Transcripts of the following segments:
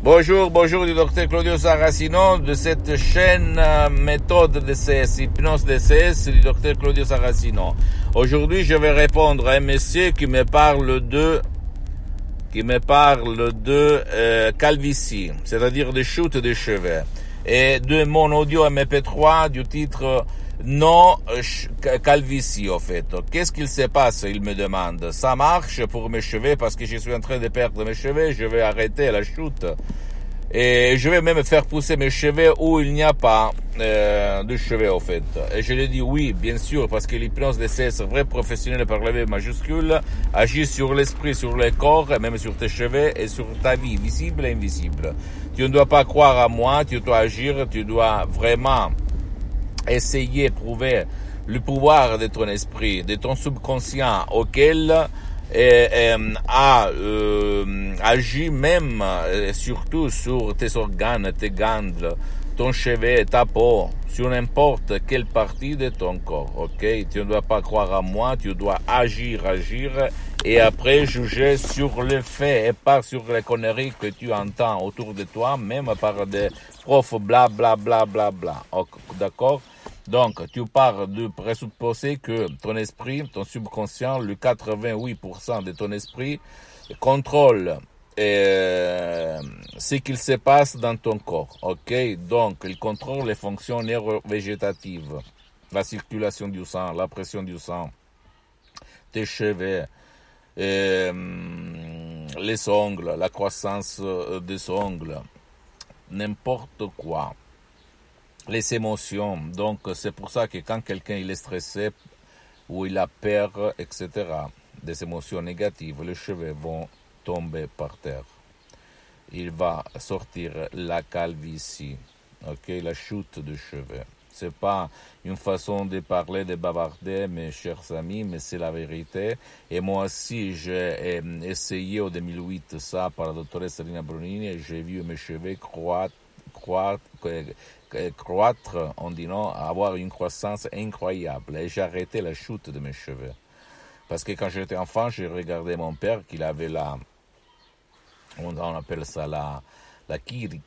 Bonjour du docteur Claudio Saracino de cette chaîne méthode DCS, hypnose DCS du docteur Claudio Saracino. Aujourd'hui, je vais répondre à un monsieur qui me parle de calvitie, c'est-à-dire de chute de cheveux, et de mon audio MP3 du titre non calvitie en fait. Qu'est-ce qu'il se passe? Il me demande. Ça marche pour mes cheveux parce que je suis en train de perdre mes cheveux, je vais arrêter la chute. Et je vais même faire pousser mes cheveux où il n'y a pas de cheveux en fait. Et je lui dis oui, bien sûr, parce que l'hypnose DCS, vrai professionnel par la V majuscule, agit sur l'esprit, sur le corps, et même sur tes cheveux et sur ta vie, visible et invisible. Tu ne dois pas croire à moi, tu dois agir, tu dois vraiment essayer de prouver le pouvoir de ton esprit, de ton subconscient auquel agit même surtout sur tes organes, tes glandes, ton cheveu, ta peau, sur n'importe quelle partie de ton corps, ok? Tu ne dois pas croire à moi, tu dois agir, et après juger sur les faits et pas sur les conneries que tu entends autour de toi, même par des profs bla bla bla bla bla, d'accord? Donc, tu pars de présupposer que ton esprit, ton subconscient, le 88% de ton esprit contrôle ce qu'il se passe dans ton corps, ok? Donc, il contrôle les fonctions neurovégétatives, la circulation du sang, la pression du sang, tes cheveux, les ongles, la croissance des ongles, n'importe quoi. Les émotions, donc c'est pour ça que quand quelqu'un il est stressé ou il a peur, etc., des émotions négatives, les cheveux vont tomber par terre. Il va sortir la calvitie, ok, la chute de cheveux. C'est pas une façon de parler, de bavarder, mes chers amis, mais c'est la vérité. Et moi aussi, j'ai essayé en 2008 ça par la doctoresse Rina Brunini et j'ai vu mes cheveux croître, on dit non, avoir une croissance incroyable. Et j'ai arrêté la chute de mes cheveux. Parce que quand j'étais enfant, j'ai regardé mon père qu'il avait on appelle ça la kirik.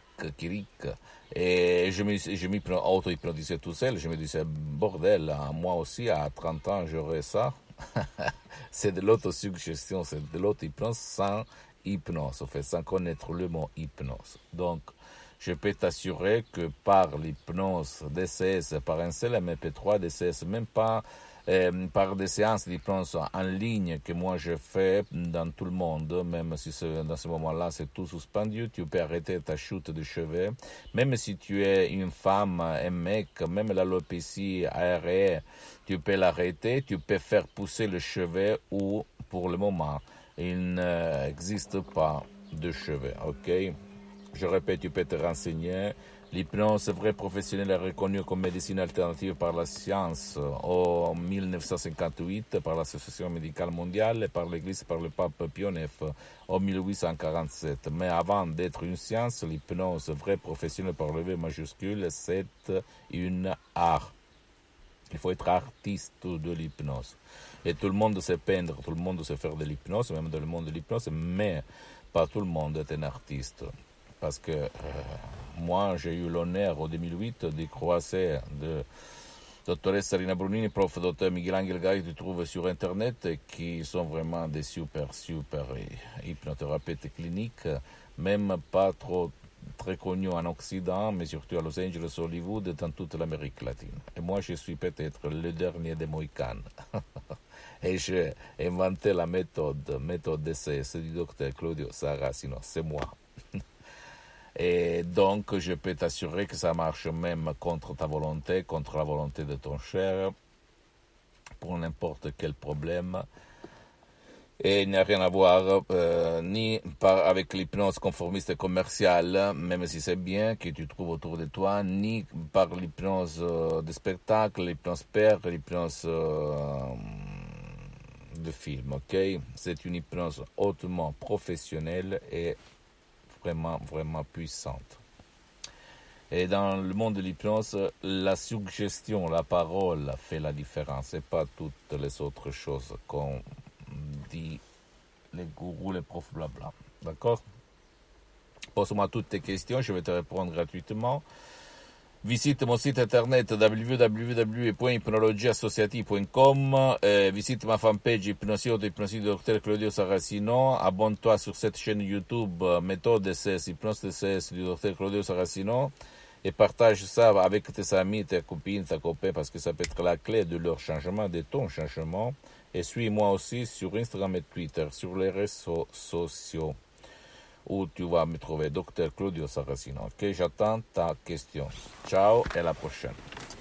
Et je m'y auto-hypnotisais tout seul. Je me disais, bordel, moi aussi, à 30 ans, j'aurais ça. C'est de l'autosuggestion, c'est de l'auto-hypnose sans hypnose, en fait, sans connaître le mot hypnose. Donc, je peux t'assurer que par l'hypnose DCS, par un seul MP3 DCS, même pas par des séances d'hypnose en ligne que moi je fais dans tout le monde, même si dans ce moment-là c'est tout suspendu, tu peux arrêter ta chute de cheveux, même si tu es une femme, un mec, même l'alopécie aérienne, tu peux l'arrêter, tu peux faire pousser le cheveu ou pour le moment il n'existe pas de cheveux, ok? Je répète, tu peux te renseigner. L'hypnose vrai professionnelle est reconnue comme médecine alternative par la science en 1958 par l'Association médicale mondiale et par l'Église par le pape Pie IX en 1847. Mais avant d'être une science, l'hypnose vrai professionnelle par le V majuscule, c'est une art. Il faut être artiste de l'hypnose. Et tout le monde sait peindre, tout le monde sait faire de l'hypnose, même dans le monde de l'hypnose, mais pas tout le monde est un artiste. Parce que moi, j'ai eu l'honneur en 2008 de croiser de doctoresse Rina Brunini, prof. Dr. Miguel Angel Gay, que tu trouves sur Internet, qui sont vraiment des super hypnothérapeutes cliniques, même pas trop très connus en Occident, mais surtout à Los Angeles, Hollywood et dans toute l'Amérique latine. Et moi, je suis peut-être le dernier des Mohicans. Et j'ai inventé la méthode DCS du docteur Claudio Saracino, c'est moi. Et donc, je peux t'assurer que ça marche même contre ta volonté, contre la volonté de ton cher, pour n'importe quel problème. Et il n'y a rien à voir ni avec l'hypnose conformiste et commerciale, même si c'est bien que tu trouves autour de toi, ni par l'hypnose de spectacle, l'hypnose père, l'hypnose de film, ok? C'est une hypnose hautement professionnelle et vraiment, vraiment puissante. Et dans le monde de l'hypnose, la suggestion, la parole fait la différence et pas toutes les autres choses qu'on dit les gourous, les profs, blabla. D'accord? pose-moi toutes tes questions, je vais te répondre gratuitement. Visite mon site internet www.hypnologieassociative.com, visite ma fanpage Hypnosie du Dr Claudio Saracino, abonne-toi sur cette chaîne YouTube Méthode DCS, Hypnose DCS du Dr Claudio Saracino et partage ça avec tes amis, tes copines, ta copain parce que ça peut être la clé de leur changement, de ton changement. Et suis-moi aussi sur Instagram et Twitter, sur les réseaux sociaux où tu vas me trouver Dr Claudio Saracino. Ok, j'attends ta question. Ciao et à la prochaine.